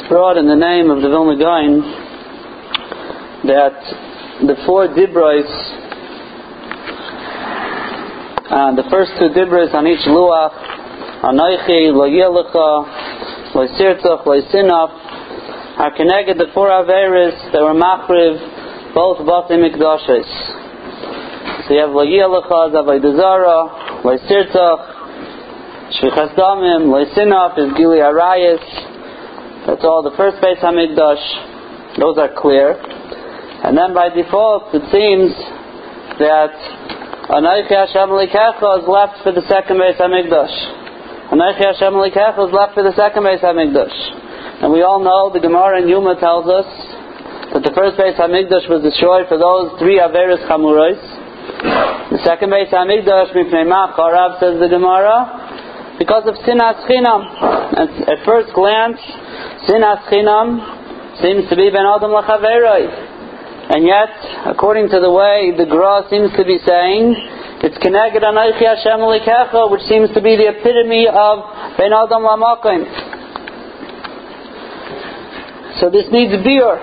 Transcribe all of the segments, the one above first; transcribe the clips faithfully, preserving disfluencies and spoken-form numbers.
brought in the name of the Vilna Gaon that the four dibros, uh, the first two dibros on each luach, Anoichi, Lo Yelecha, Lo Sirtzach, Lo Sinaf, are connected the four averes that were machriv both Batei Mikdashes. So you have Lo Yelecha, Avodah Zarah, Lo Sirtzach, Shvichas Damim, Lo Sinaf is Gili Arayis. That's all the first Beis Hamikdash. Those are clear. And then by default it seems that Anoichi Hashem Elokecha is left for the second Beis Hamikdash. Anoichi Hashem Elokecha is left for the second Beis Hamikdash. And we all know the Gemara in Yuma tells us that the first Beis Hamikdash was destroyed for those three Averos Chamuros. The second Beis Hamikdash, Mipnei Ma Charav, says the Gemara, because of Sinas Chinam. And at first glance, Sinas Chinam seems to be Ben Adam L'Chaveroi. And yet, according to the way the Gra seems to be saying, it's Keneged Anoichi Hashem Elokecha, which seems to be the epitome of Ben Adam L'Makom. So this needs beer.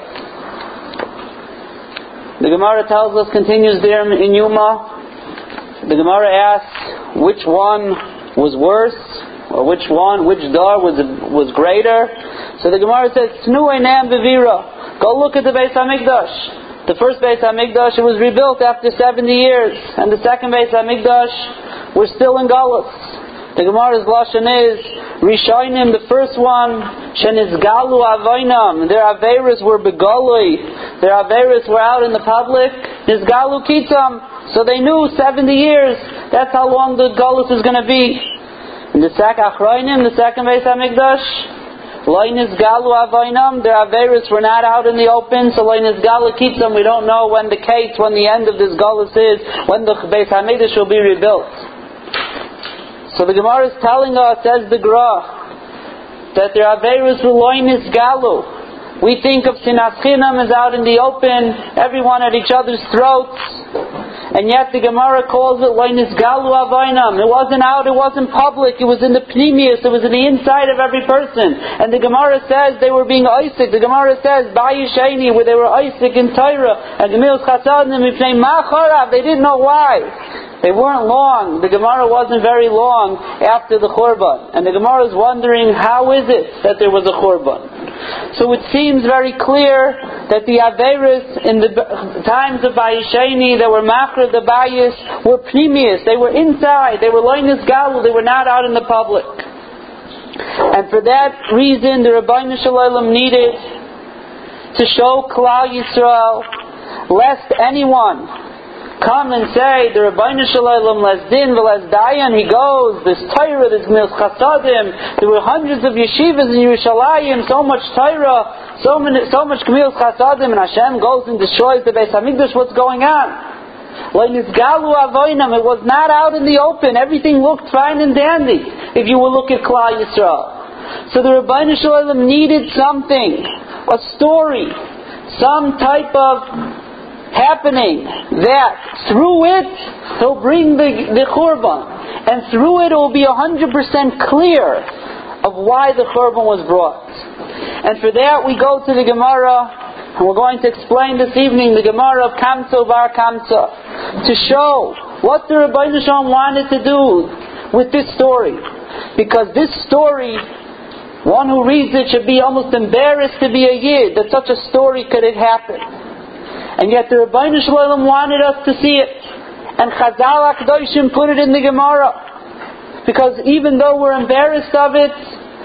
The Gemara tells us, continues there in Yuma, the Gemara asks which one was worse, or which one, which dar was was greater. So the Gemara says, Snu Einam Bevira. Go look at the Beis Hamikdash. The first Beis Hamikdash, it was rebuilt after seventy years, and the second Beis Hamikdash, we're still in Galus. The Gemara's lashon is Rishonim, the first one, Shenizgalu Avainam. Their averas were begolui. Their averas were out in the public. Nizgalu Kitam. So they knew seventy years. That's how long the Galus is going to be. In the second Achroinim, the second Beis Hamikdash, Loinis Galu Avainam, their averas were not out in the open, so Loinis Galu Kitam, we don't know when the case, when the end of this Galus is, when the Beis Hamikdash will be rebuilt. So the Gemara is telling us, says the Gra, that their averas were Loinis Galu. We think of Sinas Chinam as out in the open, everyone at each other's throats. And yet the Gemara calls it Loinis Galu Avainam. It wasn't out, it wasn't public, it was in the pneumius, it was in the inside of every person. And the Gemara says they were being Isaac. The Gemara says, Bayisheni, where they were Isaac in Torah, and Gemilas Chasadim, Mipnei Ma Charav, they didn't know why. They weren't long. The Gemara wasn't very long after the Churban. And the Gemara is wondering, how is it that there was a Churban? So it seems very clear that the Averis in the times of Bayisheni that were Machra the Bayis were pneumius. They were inside. They were Loinis Galu. They were not out in the public. And for that reason, the Rabbeinu Shalom needed to show Klal Yisrael, lest anyone come and say, the Rabbeinu Shalom les din v'les dayan, he goes, this Torah, this Gemilas Chasadim, there were hundreds of yeshivas in Yerushalayim, so much Torah, so many, so much Gemilas Chasadim, and Hashem goes and destroys the Beis Hamikdash. What's going on? Loinizgalu Avoinam, it was not out in the open, everything looked fine and dandy, if you will look at Klal Yisrael. So the Rabbeinu Shalom needed something, a story, some type of happening that through it he'll bring the, the Churban, and through it it will be one hundred percent clear of why the Churban was brought. And for that we go to the Gemara, and we're going to explain this evening the Gemara of Kamsa Bar Kamsa, to show what the Rabbeinu Shalom wanted to do with this story. Because this story, one who reads it should be almost embarrassed to be a Yid, that such a story could have happened. And yet the Rabbeinu Shalom wanted us to see it. And Chazal HaKadoshim put it in the Gemara. Because even though we're embarrassed of it,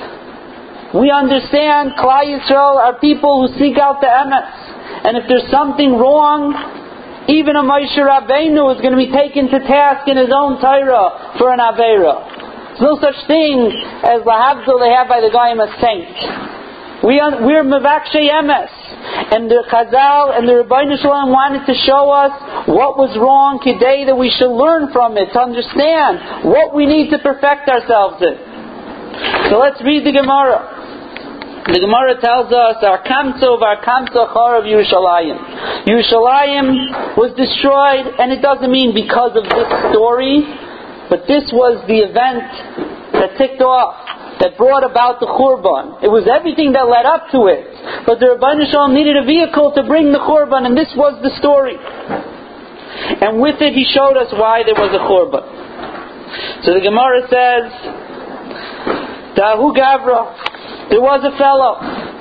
we understand Klal Yisrael are people who seek out the emes. And if there's something wrong, even a Moshe Rabbeinu is going to be taken to task in his own Torah for an Aveira. There's no such thing as Lahavdil they have by the Goyim a saint. We are, we're Mevakshay emes. And the Chazal and the Rabbeinu Shalom wanted to show us what was wrong today, that we should learn from it, to understand what we need to perfect ourselves in. So let's read the Gemara. The Gemara tells us, Our Kamsa of our Kamsa Char of Yerushalayim. Yerushalayim was destroyed, and it doesn't mean because of this story, but this was the event that ticked off that brought about the Churban. It was everything that led up to it. But the Rebbeinu Shalom needed a vehicle to bring the Churban, and this was the story. And with it, he showed us why there was a Churban. So the Gemara says, Dahu Gavra, there was a fellow,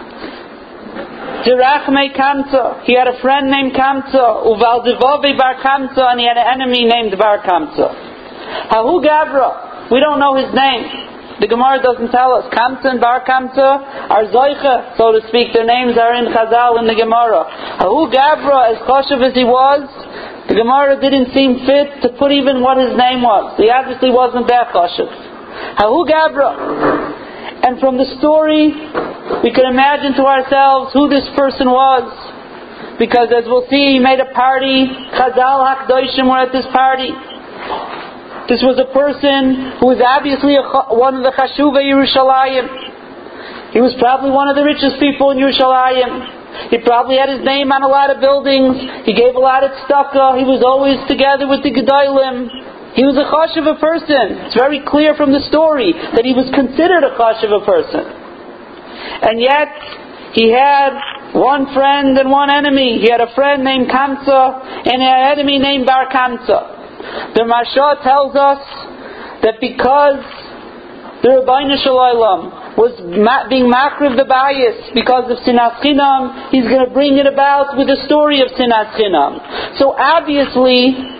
Dirachme Kamsa, he had a friend named Kamsa, Uval Devove Bar Kamsa, and he had an enemy named Bar Kamsa. Hahu Gavra, we don't know his name. The Gemara doesn't tell us. Kamsa and Bar Kamsa are Zoicha, so to speak. Their names are in Chazal in the Gemara. Hahu Gavra, as choshev as he was, the Gemara didn't seem fit to put even what his name was. He obviously wasn't that choshev. Hahu Gavra. And from the story, we can imagine to ourselves who this person was. Because as we'll see, he made a party. Chazal HaKadoshim were at this party. This was a person who was obviously a, one of the Chashuvei Yerushalayim. He was probably one of the richest people in Yerushalayim. He probably had his name on a lot of buildings. He gave a lot of tzedakah. He was always together with the Gedolim. He was a chashuv person. It's very clear from the story that he was considered a chashuv person. And yet, he had one friend and one enemy. He had a friend named Kamsa and an enemy named Bar Kamsa. The Marsha tells us that because the Rebbeinu Shalom was being makriv the bias because of Sinas Chinam, he's going to bring it about with the story of Sinas Chinam. So obviously,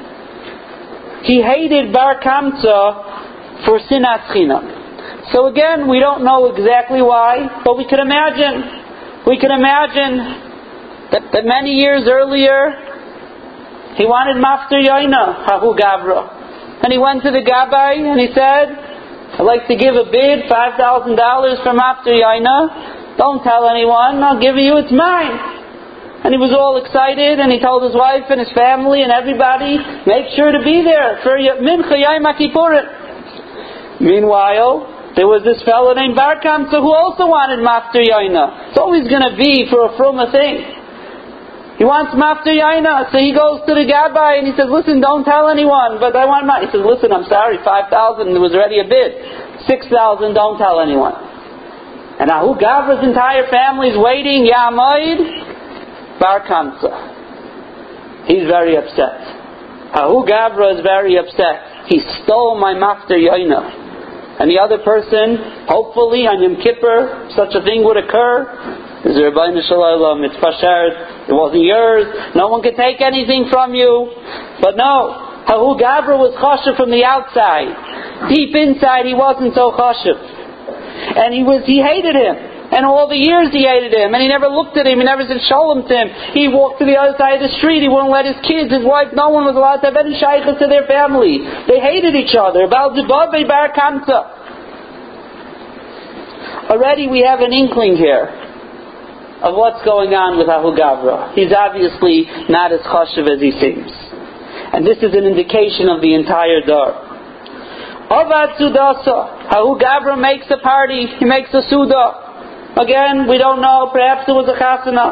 he hated Bar Kamsa for Sinas Chinam. So again, we don't know exactly why, but we can imagine, we can imagine that, that many years earlier, he wanted Mafter Yaina, Hahu Gavra. And he went to the Gabbai and he said, I'd like to give a bid, five thousand dollars for Mafter Yaina. Don't tell anyone, I'll give you, it's mine. And he was all excited and he told his wife and his family and everybody, make sure to be there for Mincha Yom Kippurim. Meanwhile, there was this fellow named Bar Kamsa who also wanted Mafter Yaina. It's always going to be for a frumah thing. He wants Mafter Yaina, so he goes to the Gabbai and he says, listen, don't tell anyone, but I want my... He says, listen, I'm sorry, five thousand, there was already a bid. six thousand, don't tell anyone. And Ahu Gavra's entire family's waiting, Ya'amoid, Bar Kamsa. He's very upset. Ahu Gavra is very upset. He stole my Mafter Yaina. And the other person, hopefully on Yom Kippur, such a thing would occur. Is the Rebbeinu Shalom, it's Pasharet, it wasn't yours, no one could take anything from you. But no, Hahu Gavra was chashuv from the outside. Deep inside he wasn't so chashuv. And he was, he hated him. And all the years he hated him. And he never looked at him, he never said shalom to him. He walked to the other side of the street, he wouldn't let his kids, his wife, no one was allowed to have any shaykhs to their family. They hated each other. About Zibabei Bar Kamsa. Already we have an inkling here of what's going on with Ahu Gavra. He's obviously not as chashuv as he seems. And this is an indication of the entire dar. Avad Sudasa. Ahu Gavra makes a party. He makes a Suda. Again, we don't know. Perhaps it was a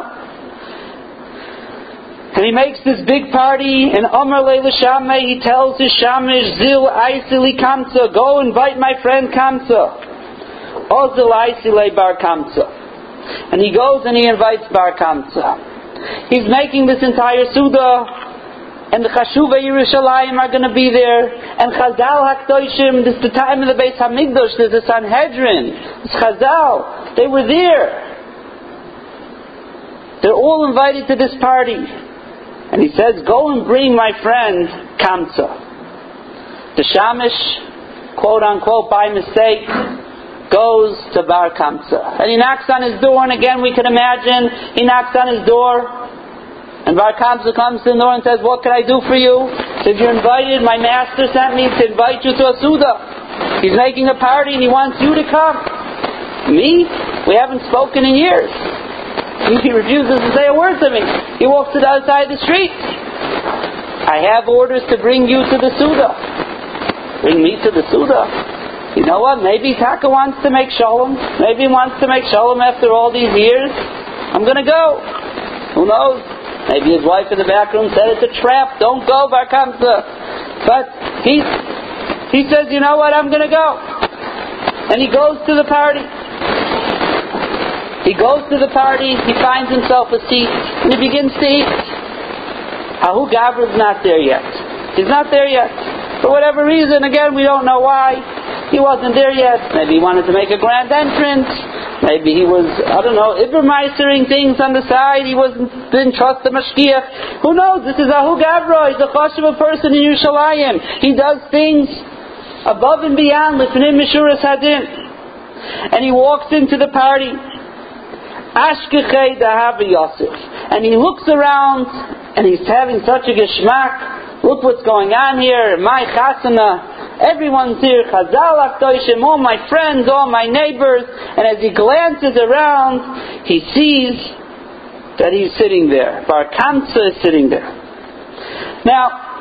chasana. And he makes this big party, and Amar Leila Shameh, he tells his Shamish, Zil Aisili Kamsa, go invite my friend Kamsa. Ozil Aisile Bar Kamsa. And he goes and he invites Bar Kamsa. He's making this entire Suda, and the Chashuvei Yerushalayim are going to be there, and Chazal HaKadoshim, this is the time of the Beis HaMikdash, there's the Sanhedrin, it's Chazal, they were there. They're all invited to this party. And he says, go and bring my friend Kamsa. The Shamish, quote unquote, by mistake, goes to Bar Kamsa. And he knocks on his door, and again we can imagine, he knocks on his door, and Bar Kamsa comes to the door and says, what can I do for you? He says, you're invited, my master sent me to invite you to a Suda. He's making a party and he wants you to come. Me? We haven't spoken in years. He refuses to say a word to me. He walks to the other side of the street. I have orders to bring you to the Suda. Bring me to the Suda? You know what? Maybe Taka wants to make shalom. Maybe he wants to make shalom after all these years. I'm going to go. Who knows? Maybe his wife in the back room said it's a trap. Don't go, Bar Kamsa. But he, he says, you know what? I'm going to go. And he goes to the party. He goes to the party, he finds himself a seat, and he begins to eat. Ahu Gavra is not there yet. He's not there yet. For whatever reason, again, we don't know why. He wasn't there yet. Maybe he wanted to make a grand entrance. Maybe he was, I don't know, Ibermeistering things on the side. He wasn't, didn't trust the Mashgiach. Who knows? This is Ahu Gavra. He's a chashuv person in Yerushalayim. He does things above and beyond Lifnim Mishuras Hadin. And he walks into the party. Ashkechei Dahav Yosef. And he looks around and he's having such a geschmack. Look what's going on here. My chasana. Everyone's here. Chazal Akdoshim. All my friends, all my neighbors. And as he glances around, he sees that he's sitting there. Bar Kamsa is sitting there. Now,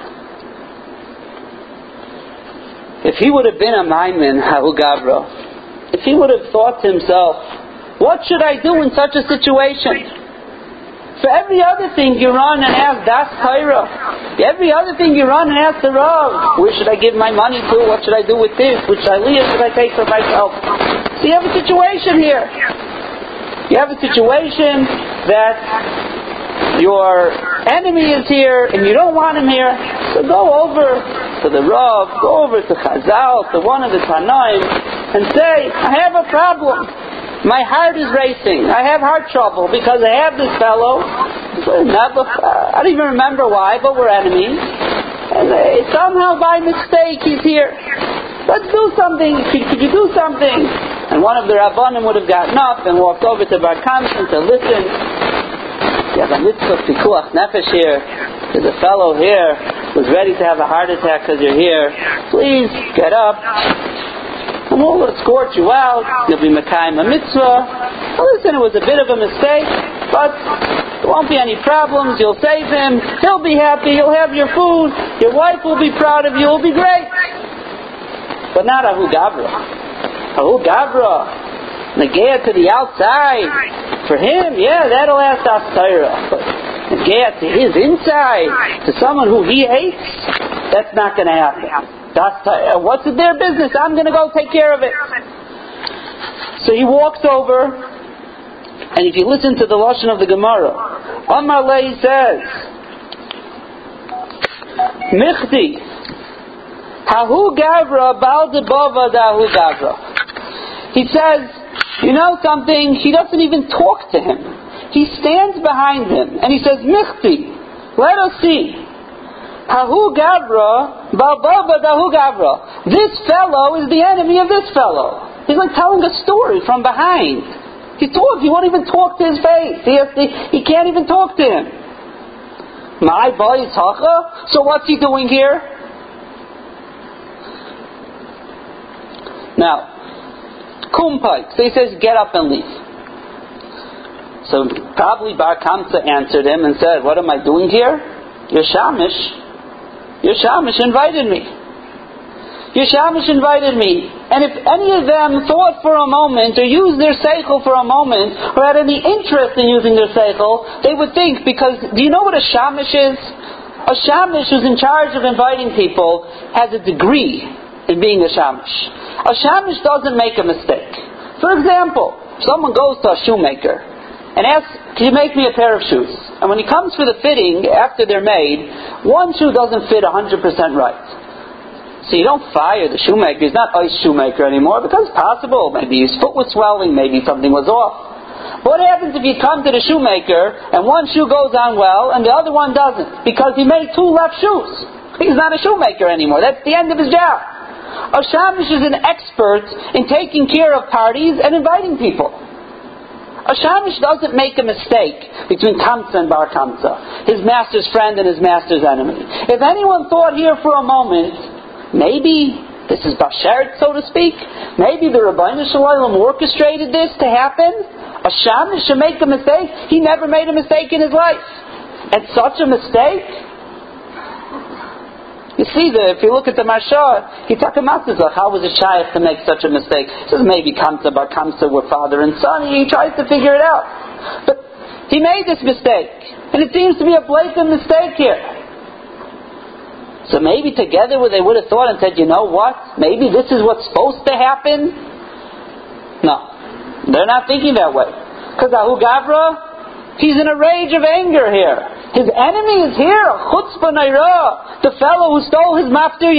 if he would have been a Maimin, Ahu Gavra, if he would have thought to himself, what should I do in such a situation? For every other thing you run and ask Das Torah. Every other thing you run and ask the Rav. Where should I give my money to? What should I do with this? Which aliyah should I take for myself? So you have a situation here. You have a situation that your enemy is here and you don't want him here. So go over to the Rav, go over to Chazal, to one of the Tanaim, and say, I have a problem. My heart is racing. I have heart trouble because I have this fellow. Never, I don't even remember why, but we're enemies. And uh, somehow by mistake he's here. Let's do something. Could, could you do something? And one of the Rabbanim would have gotten up and walked over to Bar Kamsa to listen. You have a mitzvah pikuach nefesh here. There's a fellow here who's ready to have a heart attack because you're here. Please get up. And we'll escort you out. You'll be Mekayim a mitzvah. Well, listen, it was a bit of a mistake, but there won't be any problems. You'll save him. He'll be happy. You'll have your food. Your wife will be proud of you. It'll be great. But not Ahu Gavra. Ahu Gavra. Negea to the outside. For him, yeah, that'll ask Das Torah. But Negea to his inside, to someone who he hates, that's not going to happen. That's, uh, what's their business? I'm going to go take care of it. So he walks over, and if you listen to the lashon of the Gemara, Amar Lei says, Michti, Hahu Gavra, Baal Debava Dahu Gavra. He says, you know something? He doesn't even talk to him. He stands behind him, and he says, Michti, let us see. Hahu Gavra, Bababa Dahu Gavra. This fellow is the enemy of this fellow. He's like telling a story from behind. He talks, he won't even talk to his face. He, has to, he can't even talk to him. My boy is Hacha. So what's he doing here? Now, Kumpai. So he says, get up and leave. So probably Bar Kamsa answered him and said, what am I doing here? You're Shamish. Your Shamish invited me. Your Shamish invited me. And if any of them thought for a moment, or used their seichel for a moment, or had any interest in using their seichel, they would think, because, do you know what a Shamish is? A Shamish who's in charge of inviting people has a degree in being a Shamish. A Shamish doesn't make a mistake. For example, someone goes to a shoemaker and asks, can you make me a pair of shoes? And when he comes for the fitting, after they're made, one shoe doesn't fit one hundred percent right. So you don't fire the shoemaker. He's not ice shoemaker anymore, because it's possible. Maybe his foot was swelling, maybe something was off. But what happens if you come to the shoemaker, and one shoe goes on well, and the other one doesn't? Because he made two left shoes. He's not a shoemaker anymore. That's the end of his job. A Shamish is an expert in taking care of parties and inviting people. A Shamish doesn't make a mistake between Kamsa and Bar Kamsa, his master's friend and his master's enemy. If anyone thought here for a moment, maybe this is Bashert, so to speak, maybe the Rabbeinu Shalom orchestrated this to happen, a Shamish should make a mistake. He never made a mistake in his life. And such a mistake, you see, the, if you look at the Marsha, he talked about this, how was it shaykh to make such a mistake? He says maybe Kamsa Bar Kamsa were father and son. He tries to figure it out. But he made this mistake. And it seems to be a blatant mistake here. So maybe together they would have thought and said, you know what? Maybe this is what's supposed to happen. No. They're not thinking that way. Because Ahu Gavra, he's in a rage of anger here. His enemy is here, Chutzpah Naira, the fellow who stole his Maftir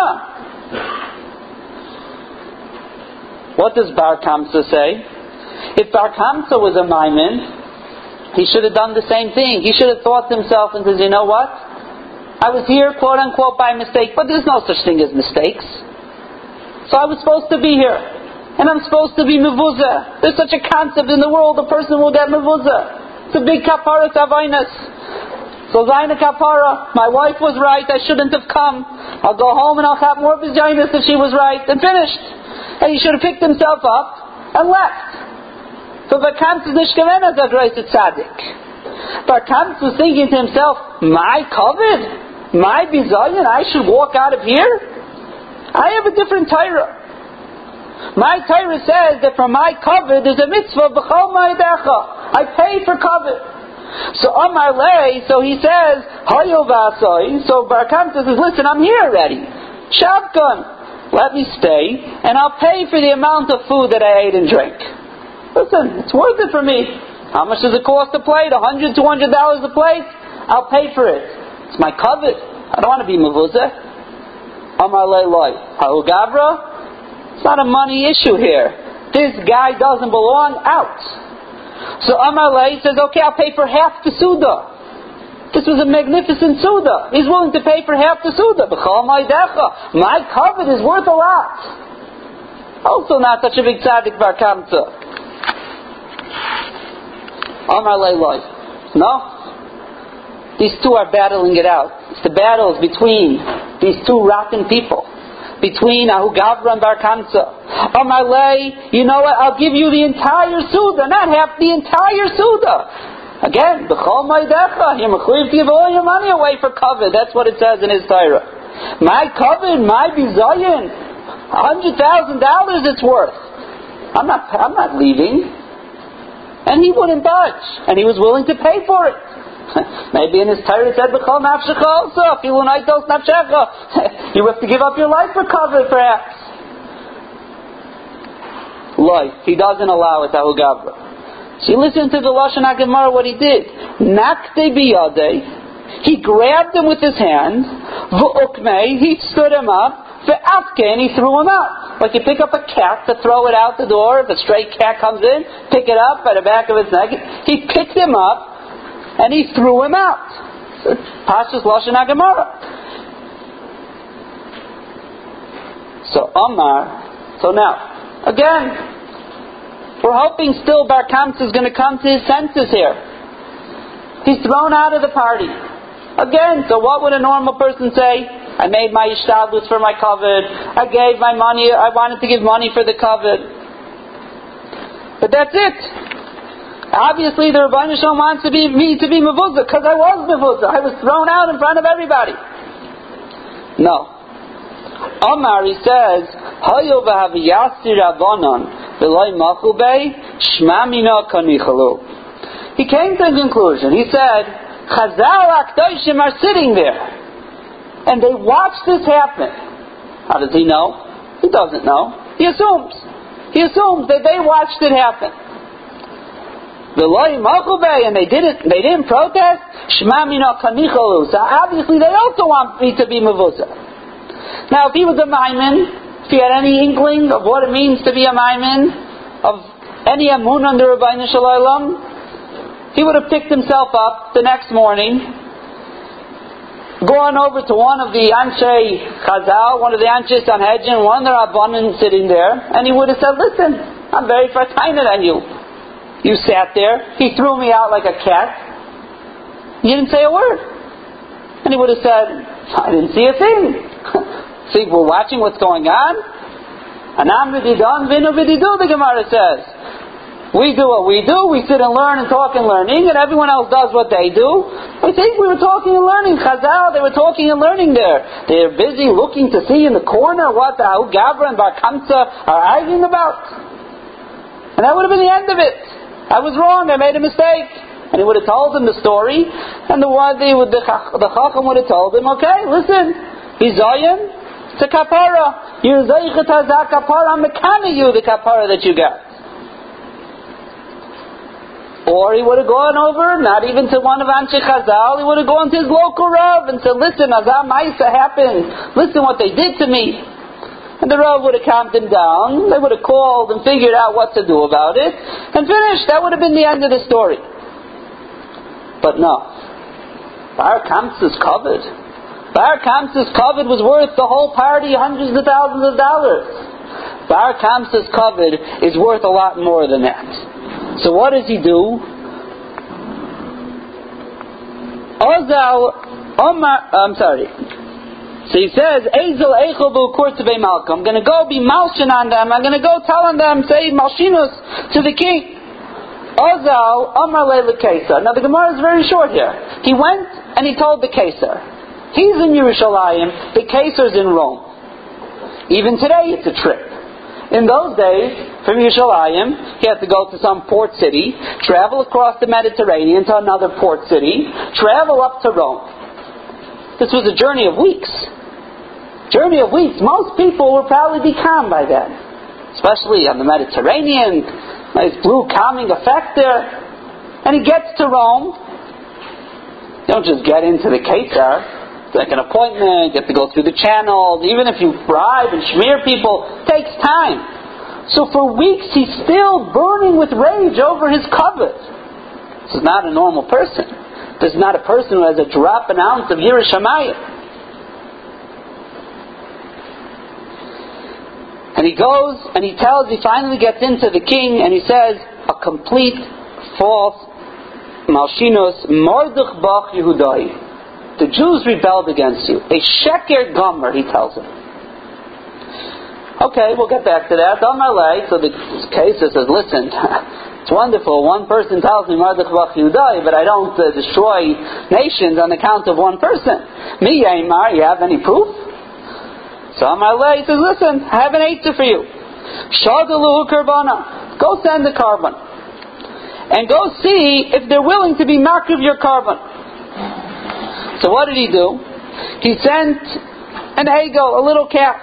Yaina. What does Bar Kamsa say? If Bar Kamsa was a Maimon, he should have done the same thing. He should have thought to himself and says, you know what? I was here, quote unquote, by mistake, but there's no such thing as mistakes. So I was supposed to be here. And I'm supposed to be mevuzah. There's such a concept in the world, a person will get mevuzah. It's a big kapara tavainas. So Zaina kapara, my wife was right, I shouldn't have come. I'll go home and I'll have more vagina if she was right, and finished. And he should have picked himself up and left. So Barkamtz is nishkaven as a great tzaddik. Barkamtz was thinking to himself, my covet, my bizayin, I should walk out of here? I have a different Torah. My Torah says that for my covet there's a mitzvah b'chol ma'idecha. I pay for covet. So Amar Lei, so he says, Hayo v'asoi. So Bar Kamsa says, listen, I'm here already. Shavkan, let me stay, and I'll pay for the amount of food that I ate and drank. Listen, it's worth it for me. How much does it cost a plate? A hundred, two hundred dollars a plate? I'll pay for it. It's my covet. I don't want to be mevuzah. Amar Lei Loi. Hahu Gavra. It's not a money issue here. This guy doesn't belong out. So Amar Lei says, okay, I'll pay for half the Suda. This was a magnificent Suda. He's willing to pay for half the Suda. B'chol ma'idecha. My covet is worth a lot. Also not such a big tzaddik Bar Kamsa. Amar Lei Loi. No. These two are battling it out. It's the battles between these two rotten people. Between Ahu Gavra and Bar Kamsa. Amar Lei, you know what? I'll give you the entire Suda, not half the entire Suda. Again, b'chol ma'idecha, you're mechuyev to give all your money away for covet. That's what it says in his Torah. My covet, my bizayin, a hundred thousand dollars it's worth. I'm not, I'm not leaving. And he wouldn't budge, and he was willing to pay for it. Maybe in his Torah it said, "B'chol nafshecha also, afilu naitos nafshecha." You have to give up your life for covet, perhaps. Life. He doesn't allow it, Ahu Gavra. So you listen to the Lashon HaGemara, what he did. Nakte biyadei. He grabbed him with his hand. V'ukmei. He stood him up. V'afke. And he threw him out. Like you pick up a cat to throw it out the door. If a stray cat comes in, pick it up by the back of its neck. He picked him up. And he threw him out. Pashas Lashon HaGemara. So Omar. So now, again, we're hoping still Bar Kamsa is going to come to his senses here. He's thrown out of the party. Again, so what would a normal person say? I made my ishtadlus for my covet. I gave my money. I wanted to give money for the covet. But that's it. Obviously, the Rebbeinu Shalom wants to be, me to be mevuzah, because I was mevuzah. I was thrown out in front of everybody. No. Omar, he says, Hayo v'haviyasir avonon v'loi machu bei shma mina kanichalu. He came to a conclusion. He said, Chazal HaKadoshim are sitting there, and they watch this happen. How does he know? He doesn't know. He assumes. He assumes that they watched it happen. And they didn't they didn't protest. Shema mina kanichalu. So obviously they also want me to be mevuzah. Now if he was a maimin, if he had any inkling of what it means to be a maimin, of any amun under Rebbeinu Shalom, he would have picked himself up the next morning, gone over to one of the Anshe Chazal, one of the Anshe Sanhedrin, one of the Rabbanim sitting there, and he would have said, listen, I'm very frustrated on you. You sat there. He threw me out like a cat. You didn't say a word. And he would have said, I didn't see a thing. See, we're watching what's going on. Anam v'didon v'inu v'didu, the Gemara says. We do what we do. We sit and learn and talk and learning, and everyone else does what they do. I think we were talking and learning. Chazal, they were talking and learning there. They're busy looking to see in the corner what the Ahu Gavra and Bar Kamsa are arguing about. And that would have been the end of it. I was wrong, I made a mistake. And he would have told him the story, and the wadi with the, the Chacham would have told him, okay, listen, he's Zayin, it's a kapara. You're Zayin Chazak kapara, I'm mekana you the kapara that you got. Or he would have gone over, not even to one of Anshe Chazal, he would have gone to his local Rav and said, listen, Azam Maisa happened. Listen what they did to me. And the Rav would have calmed him down. They would have called and figured out what to do about it. And finished. That would have been the end of the story. But no. Bar Kamsa's covered. Bar Kamsa's covered was worth the whole party hundreds of thousands of dollars. Bar Kamsa's covered is worth a lot more than that. So what does he do? Ozal Omar, I'm sorry. So he says, Ezel Eichel B'Ukurtevei Malka. I'm going to go be malshin on them. I'm going to go tell on them, say malshinus to the king. Ozal Omar Leila Kesar. Now the Gemara is very short here. He went and he told the Kesar. He's in Yerushalayim. The Kesar's in Rome. Even today it's a trip. In those days, from Yerushalayim, he had to go to some port city, travel across the Mediterranean to another port city, travel up to Rome. This was a journey of weeks. Journey of weeks. Most people would probably be calm by then. Especially on the Mediterranean. Nice blue calming effect there. And he gets to Rome. You don't just get into the Kesar. It's like an appointment. You have to go through the channels. Even if you bribe and smear people, it takes time. So for weeks he's still burning with rage over his covet. This is not a normal person. This is not a person who has a drop an ounce of Yiras Shamayim. And he goes and he tells, he finally gets into the king and he says, a complete false Malshinos Mordech Bach Yehudai. The Jews rebelled against you. A Sheker Gomer, he tells him. Okay, we'll get back to that. So the case says, listen, it's wonderful. One person tells me Mordech Bach Yehudai, but I don't uh, destroy nations on account of one person. Me, Yaimar, you have any proof? So Amalei says, listen, I have an answer for you. Shadaluhu Karbana. Go send the carbon. And go see if they're willing to be makriv your carbon. So what did he do? He sent an egel, a little calf.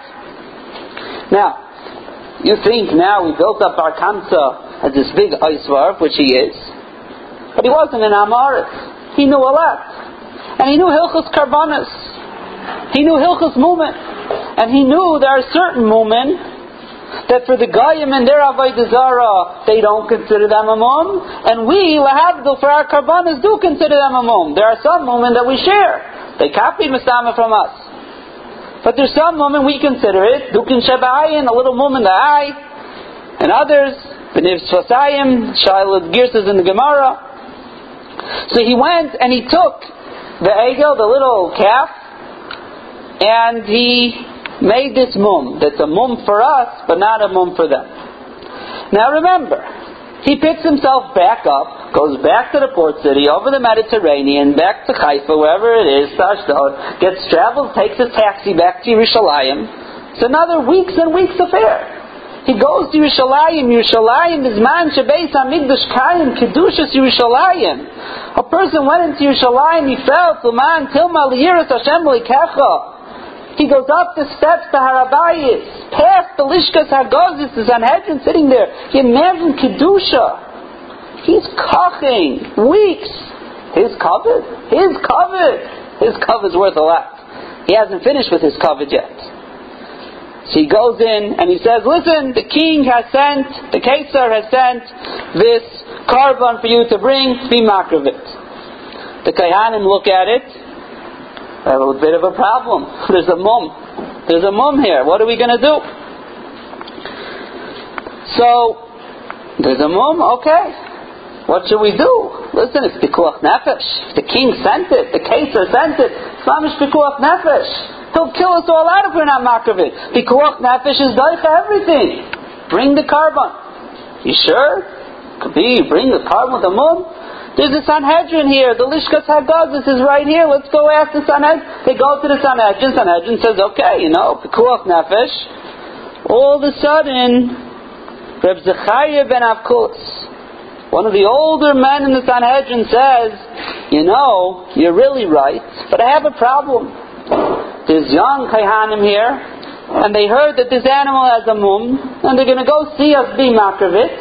Now, you think now we built up our Kamsa as this big Eisvarf, which he is. But he wasn't an Amaris. He knew a lot. And he knew Hilchos Karbanas. He knew Hilchos Mumen. And he knew there are certain Mumen that for the Goyim and their Avodah Zarah, they don't consider them a mum. And we, Lahavdil, for our Karbanas, do consider them a mum. There are some Mumen that we share. They copied Mastama from us. But there's some Mumen we consider it. Dukin Shabayin, a little Mumen the eye. And others, B'niv Tzvasayim, Shailad Girsas in the Gemara. So he went and he took the Egel, the little calf, and he made this mum. That's a mum for us, but not a mum for them. Now remember, he picks himself back up, goes back to the port city, over the Mediterranean, back to Haifa, wherever it is, to Ashdod, gets travels, takes his taxi back to Yerushalayim. It's another weeks and weeks affair. He goes to Yerushalayim. Yerushalayim is man shebeis hamikdash kayim kedushas Yerushalayim. A person went into Yerushalayim. He felt l'man tilma liyiras Hashem l'ikecha. He goes up the steps to Harabayis, past the Lishkas Hagozis, the Sanhedrin sitting there. He imagine kedusha. He's coughing weeks. His covet, his covet, his covet's worth a lot. He hasn't finished with his covet yet. So he goes in and he says, listen, the king has sent, the Kesar has sent this carbon for you to bring, be makravit. The Kayanim look at it, they have a bit of a problem. There's a mum. There's a mum here. What are we going to do? So, there's a mum, okay. What should we do? Listen, it's Pikuach Nefesh. The king sent it, the Kesar sent it. It's mamish Pikuach Nefesh. He'll kill us all out if we're not makravit. Pikuach Nefesh is doicha everything. Bring the carbon. You sure? Could be. Bring the carbon with the mum. There's a Sanhedrin here. The Lishkas Hagazis is right here. Let's go ask the Sanhedrin. They go to the Sanhedrin. Sanhedrin says, okay, you know, Pekuach Nefesh. All of a sudden, Reb Zechariah ben Avkulis, one of the older men in the Sanhedrin, says, you know, you're really right, but I have a problem. There's young Kaihanim here, and they heard that this animal has a mum, and they're going to go see us be makravit.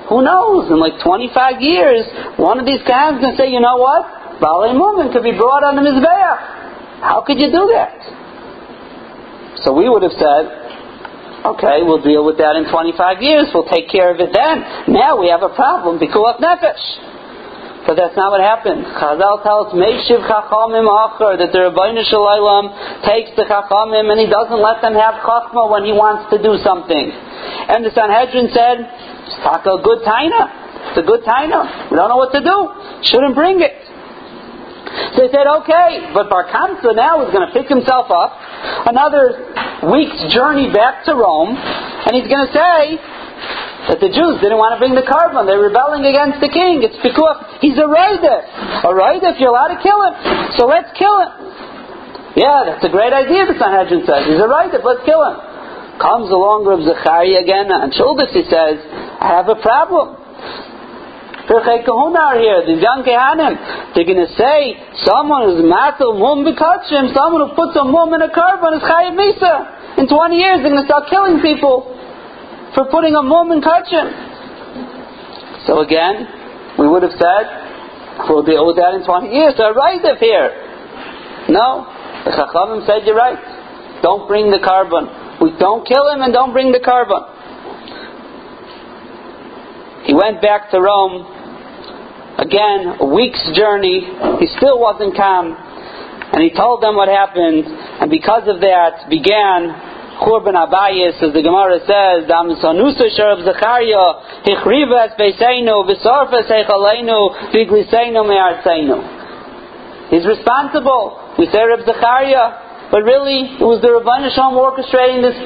who knows? In like twenty-five years, one of these guys is going to say, you know what? Baalei Mumin could be brought on the Mizbeach. How could you do that? So we would have said, okay, we'll deal with that in twenty-five years. We'll take care of it then. Now we have a problem. Pikuach nefesh. But that's not what happened. Chazal tells Meishiv Chachamim Achar, that the Rebbeinu Shalom takes the Chachamim and he doesn't let them have Chachma when he wants to do something. And the Sanhedrin said, it's a good taina. It's a good taina. We don't know what to do. Shouldn't bring it. So they said, okay, but Bar Kamsa now is going to pick himself up, another week's journey back to Rome, and he's going to say that the Jews didn't want to bring the carbon. They're rebelling against the king. It's because he's a Raidif. A Raidif, you're allowed to kill him. So let's kill him. Yeah, that's a great idea, the Sanhedrin says. He's a Raidif, let's kill him. Comes along Reb Zechariah again, and Shuldis, he says, I have a problem. Pirchei Kahuna are here, these young Kehanim. They're going to say, someone who's matel mum b'kachim, someone who puts a mum in a carbon is chayav misa. In twenty years, they're going to start killing people for putting a mum in kachim. So again, we would have said, we'll deal with that in twenty years. They're right up here. No, the Chachamim said you're right. Don't bring the carbon. We don't kill him and don't bring the carbon. He went back to Rome. Again, a week's journey. He still wasn't calm. And he told them what happened. And because of that, began Churban Abayis, as the Gemara says, Dam Sanusa Sharab Zechariah, Hichriva es Beiseinu, Visorfa Seichaleinu, Vigliseinu Me'arseinu. He's responsible. We say Reb Zechariah, but really it was the Rebbeinu Shalom orchestrating this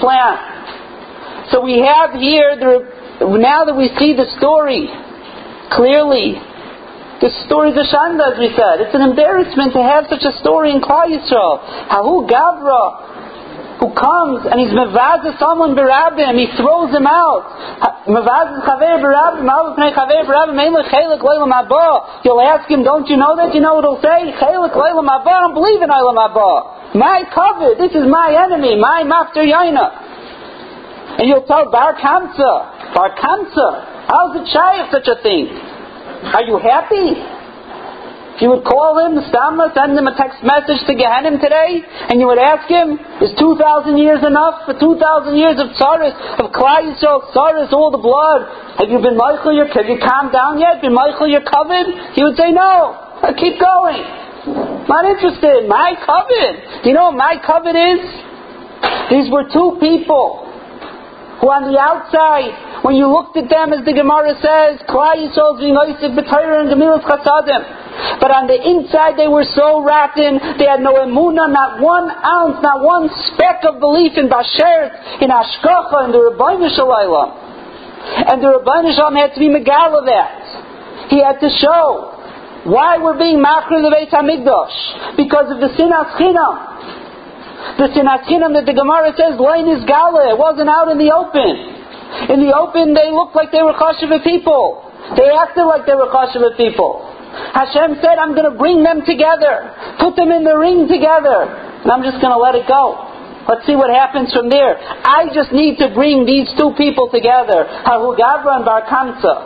plan. So we have here, the, now that we see the story clearly, the story is a shanda, as we said. It's an embarrassment to have such a story in Klal Yisrael. Hahu Gavra, who comes and he's mevazah someone berabim, he throws him out. Mevazah chaver berabim, ma'av pnei chaver berabim, ein lechelik leilam haba. You'll ask him, don't you know that? You know what he'll say? Chelik leilam haba. I don't believe in leilam haba. My covet, this is my enemy, my mafter yaina. And you'll tell Bar Kamsa, Bar Kamsa, how's it shy of such a thing? Are you happy? If you would call him, Stama, send him a text message to Gehenim today, and you would ask him, is two thousand years enough for two thousand years of tzaris, of Klal Yisrael, tzaris, all the blood? Have you been Michael, your, have you calmed down yet? Been Michael, your covet? He would say, no, I keep going. Not interested. My covet. Do you know what my covet is? These were two people who on the outside, when you looked at them, as the Gemara says, Klal Yisrael being Oisik b'Torah and Gemilas Chasadim. But on the inside they were so rotten, they had no emunah, not one ounce, not one speck of belief in Bashert, in Ashkacha, in the Rebbeinu Shalom. And the Rebbeinu Shalom had to be Megala that. He had to show why we're being Machri the Beit HaMikdash. Because of the Sinas Chinam. The Sinas Chinam that the Gemara says, Lein is Gala, it wasn't out in the open. In the open, they looked like they were Chashuva people. They acted like they were Chashuva people. Hashem said, I'm going to bring them together. Put them in the ring together. And I'm just going to let it go. Let's see what happens from there. I just need to bring these two people together. Hahu Gavra and Bar Kamsa.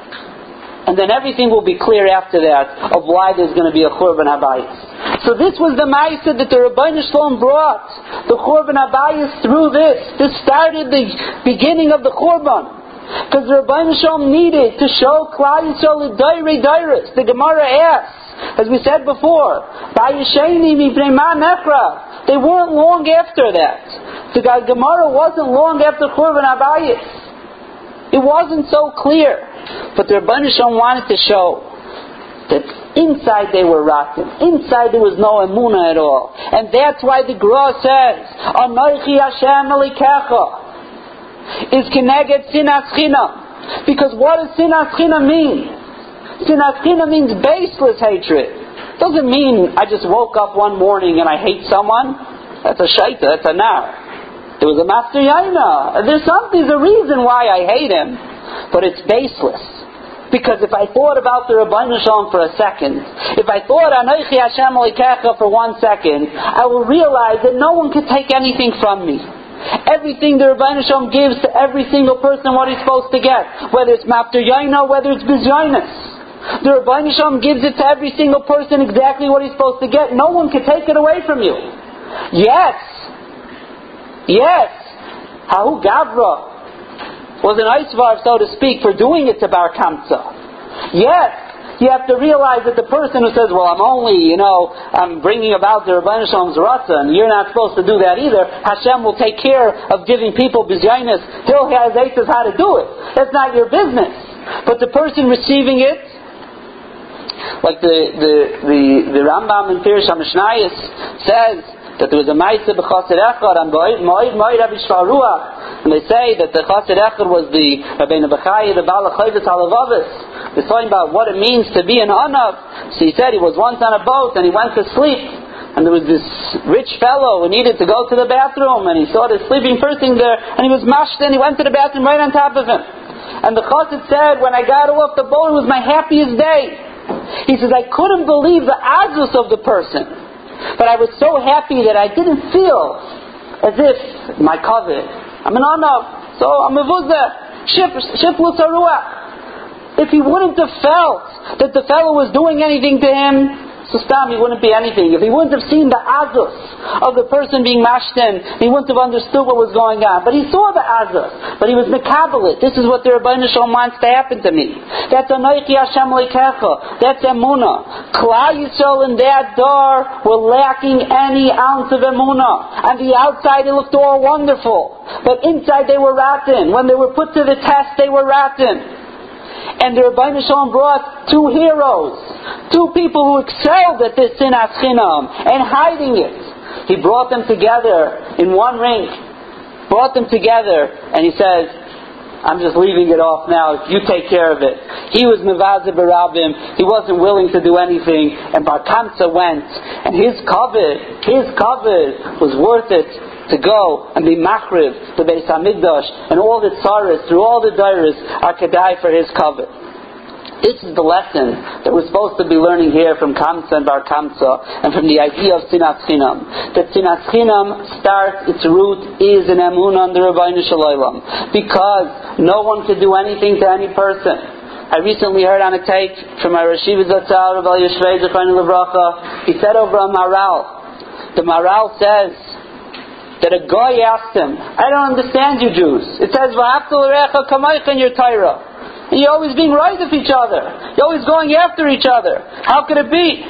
And then everything will be clear after that of why there's going to be a Churban Habayis. So this was the Ma'aseh that the Rebbeinu Shalom brought. The Churban Habayis through this. This started the beginning of the Churban. Because the Rebbeinu Shalom needed to show Klal Yisrael Dairi Dairis. The Gemara asks, as we said before, Bayesheni Mibnei Ma Nechra. They weren't long after that. The Gemara wasn't long after Churban Habayis. It wasn't so clear. But the Rebbeinu Shalom wanted to show that inside they were rotten. Inside there was no emunah at all. And that's why the Gra says, Anochi Hashem Elikecha is Keneged Sinas Chinam. Because what does Sinas Chinam mean? Sinas Chinam means baseless hatred. It doesn't mean I just woke up one morning and I hate someone. That's a shaita, that's a nar. There was a master yaina. There's something, there's a reason why I hate him. But it's baseless. Because if I thought about the Rebbeinu Shalom for a second, if I thought Anochi Hashem Elikecha for one second, I will realize that no one could take anything from me. Everything the Rebbeinu Shalom gives to every single person what he's supposed to get. Whether it's Mafter Yaina, whether it's Bizyainus. The Rebbeinu Shalom gives it to every single person exactly what he's supposed to get. No one can take it away from you. Yes. Yes. Hahu Gavra was an Eisvar, so to speak, for doing it to Bar Kamsa. Yes. You have to realize that the person who says, well, I'm only, you know, I'm bringing about the Rebbeinu Shalom's Ratzah, and you're not supposed to do that either, Hashem will take care of giving people Bizyainus. He'll has aitas how to do it. That's not your business. But the person receiving it, like the the the, the Rambam in Pirush HaMishnayos says that there was a Maisa b'Chassid Echad on Moed Moed Rabbi Shvar Ruach, and they say that the Chassid Echad was the Rabbeinu Bechaya, the Baal HaChovis HaLevavis. He's talking about what it means to be an Anav. So he said he was once on a boat and he went to sleep. And there was this rich fellow who needed to go to the bathroom, and he saw this sleeping person there, and he was mashed and he went to the bathroom right on top of him. And the Chassid said, when I got off the boat, it was my happiest day. He says, I couldn't believe the azus of the person, but I was so happy that I didn't feel as if my kavod. I'm an Anav, so I'm a vuzah, shiflus haruach. If he wouldn't have felt that the fellow was doing anything to him, so stam, he wouldn't be anything. If he wouldn't have seen the azus of the person being mashten, he wouldn't have understood what was going on. But he saw the azus, but he was mekabelit. This is what the Rebbeinu Shalom wants to happen to me. That's Anochi Hashem Leikecha. That's emunah. Klal Yisrael in that door were lacking any ounce of emunah. On the outside it looked all wonderful, but inside they were rotten. When they were put to the test, they were rotten. And the Rebbeinu Shalom brought two heroes, two people who excelled at this sinas chinam and hiding it. He brought them together in one ring, brought them together, and he says, I'm just leaving it off now, you take care of it. He was Mevazeh Barabim, he wasn't willing to do anything, and Bar Kamsa went, and his kavod, his kavod was worth it to go and be machriv the Beis Hamikdash, and all the tzaras through all the dairas are kedai for his kavod. This is the lesson that we're supposed to be learning here from Kamsa and Bar Kamsa, and from the idea of Sinas Chinam. That Sinas Chinam starts, its root is in emunah under Rebbeinu Shalom, because no one can do anything to any person. I recently heard on a tape from my Rashiv Zatzal, Rabbi Yeshvei Zechron Levracha. He said over a Maral, the Maral says that a guy asked him, I don't understand you Jews. It says, V'hafta l'recha kamaycha in your Torah. And you're always being right with each other. You're always going after each other. How could it be?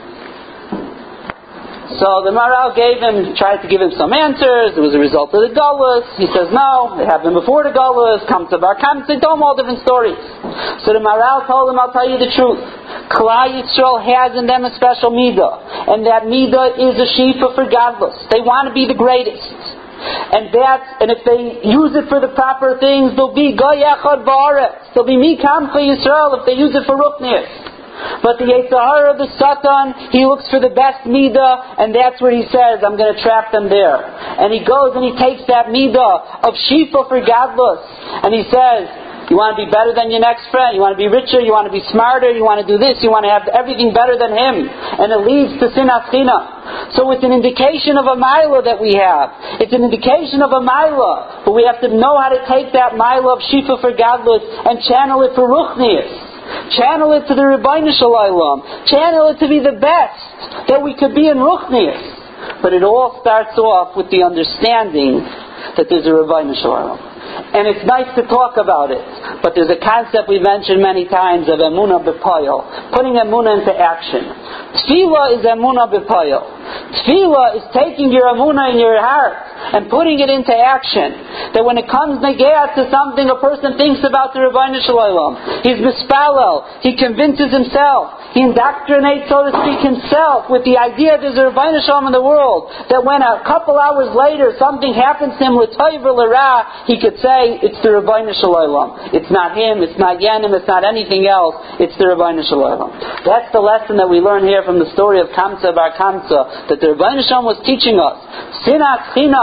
So the Maral gave him, tried to give him some answers. It was a result of the Galus. He says, no, it happened before the Galus. Come to Bar Kamsa. They told him all different stories. So the Maral told him, I'll tell you the truth. Klal Yisrael has in them a special midah. And that midah is a shefa for godless. They want to be the greatest. And that, and if they use it for the proper things, they'll be Goy Echad Ba'aretz. They'll be Mikam for Yisrael if they use it for Ruchnias. But the Yetzer Hara of the Satan, he looks for the best midah, and that's where he says, I'm going to trap them there. And he goes and he takes that midah of shefa for godless, and he says, you want to be better than your next friend, you want to be richer, you want to be smarter, you want to do this, you want to have everything better than him. And it leads to sinas chinam. So it's an indication of a milah that we have. It's an indication of a milah. But we have to know how to take that milah of shefa for godless and channel it for ruchnius. Channel it to the Rebbeinu Shalom. Channel it to be the best that we could be in ruchnius. But it all starts off with the understanding that there's a Rebbeinu Shalom. And it's nice to talk about it, but there's a concept we've mentioned many times of emunah b'poyel, putting emunah into action. Tefillah is emunah b'poyel. Tefillah is taking your emunah in your heart and putting it into action. That when it comes negayat to something, a person thinks about the Rebbeinu Shalom. He's mispalel. He convinces himself. He indoctrinates, so to speak, himself with the idea there's a Rebbeinu Shalom in the world. That when a couple hours later something happens to him l'toiv or l'ra, he could say it's the Rebbeinu Shalom. It's not him. It's not Yanim. It's not anything else. It's the Rebbeinu Shalom. That's the lesson that we learn here from the story of Kamsa Bar Kamsa, that the Rebbeinu Shalom was teaching us. Sinas Chinam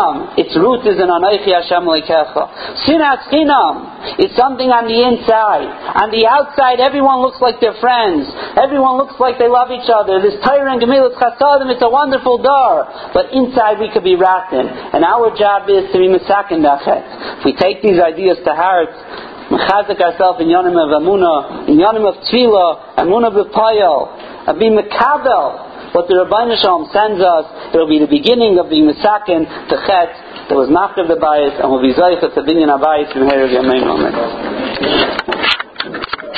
chinam, its root is in Anochi Hashem Elokecha. Sinas chinam, it's something on the inside. On the outside, everyone looks like they're friends. Everyone looks like they love each other. This Torah and Gemilas Chasadim, it's a wonderful door. But inside we could be rotten. And our job is to be mesaken dachet. If we take these ideas to heart, mechazik ourselves in yonim of Amunah, in yonim of Tefillah, Amunah b'Payel, and be mekabel what the Rabbeinu Shalom sends us. It will be the beginning of being mesaken to chet that was machriv the bayis, and will be zayich to binyan abayis in Hereg Yameinu. Amen.